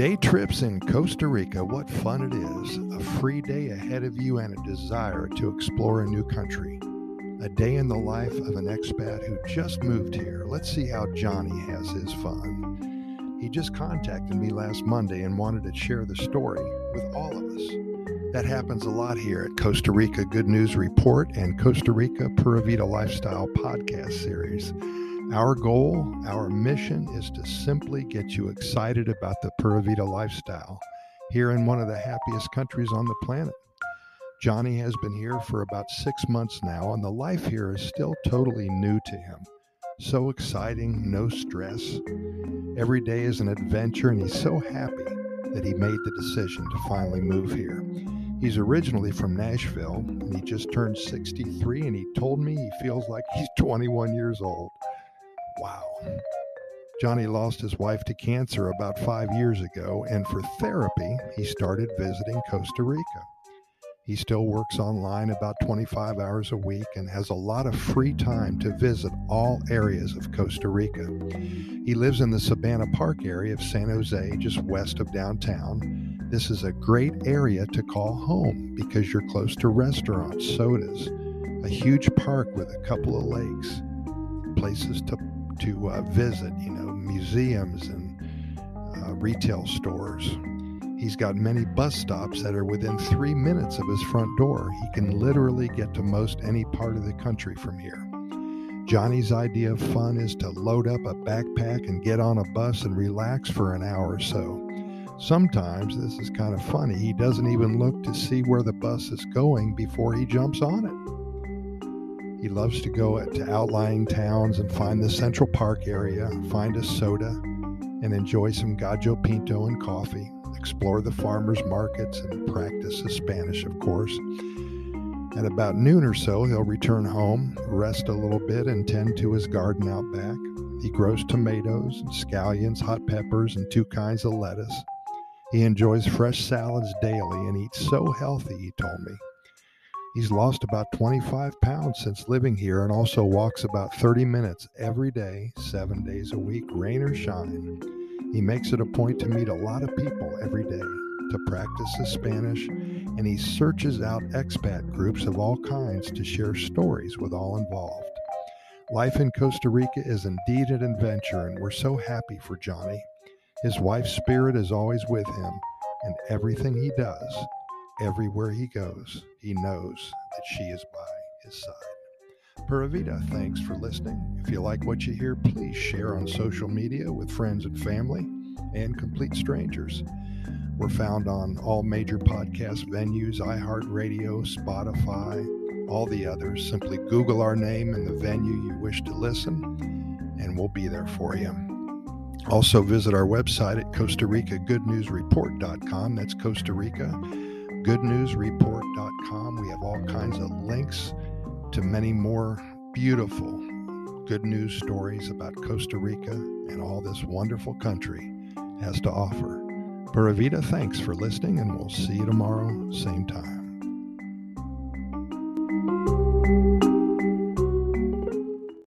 Day trips in Costa Rica, what fun it is. A free day ahead of you and a desire to explore a new country. A day in the life of an expat who just moved here. Let's see how Johnny has his fun. He just contacted me last Monday and wanted to share the story with all of us. That happens a lot here at Costa Rica Good News Report and Costa Rica Pura Vida Lifestyle podcast series. Our goal, our mission is to simply get you excited about the Pura Vida lifestyle here in one of the happiest countries on the planet. Johnny has been here for about 6 months now, and the life here is still totally new to him. So exciting, no stress. Every day is an adventure, and he's so happy that he made the decision to finally move here. He's originally from Nashville, and he just turned 63, and he told me he feels like he's 21 years old. Wow. Johnny lost his wife to cancer about 5 years ago, and for therapy, he started visiting Costa Rica. He still works online about 25 hours a week and has a lot of free time to visit all areas of Costa Rica. He lives in the Sabana Park area of San Jose, just west of downtown. This is a great area to call home because you're close to restaurants, sodas, a huge park with a couple of lakes, places to visit, museums and retail stores. He's got many bus stops that are within 3 minutes of his front door. He can literally get to most any part of the country from here. Johnny's idea of fun is to load up a backpack and get on a bus and relax for an hour or so. Sometimes, this is kind of funny, he doesn't even look to see where the bus is going before he jumps on it. He loves to go to outlying towns and find the Central Park area, find a soda, and enjoy some gallo pinto and coffee, explore the farmers markets, and practice his Spanish, of course. At about noon or so, he'll return home, rest a little bit, and tend to his garden out back. He grows tomatoes, and scallions, hot peppers, and 2 kinds of lettuce. He enjoys fresh salads daily and eats so healthy, he told me. He's lost about 25 pounds since living here and also walks about 30 minutes every day, 7 days a week, rain or shine. He makes it a point to meet a lot of people every day, to practice his Spanish, and he searches out expat groups of all kinds to share stories with all involved. Life in Costa Rica is indeed an adventure, and we're so happy for Johnny. His wife's spirit is always with him, and everything he does, everywhere he goes, he knows that she is by his side. Pura Vida, thanks for listening. If you like what you hear, please share on social media with friends and family and complete strangers. We're found on all major podcast venues, iHeartRadio, Spotify, all the others. Simply Google our name and the venue you wish to listen, and we'll be there for you. Also visit our website at Costa Rica GoodNewsReport.com. That's Costa Rica GoodNewsReport.com. We have all kinds of links to many more beautiful good news stories about Costa Rica and all this wonderful country has to offer. Pura Vida, thanks for listening, and we'll see you tomorrow, same time.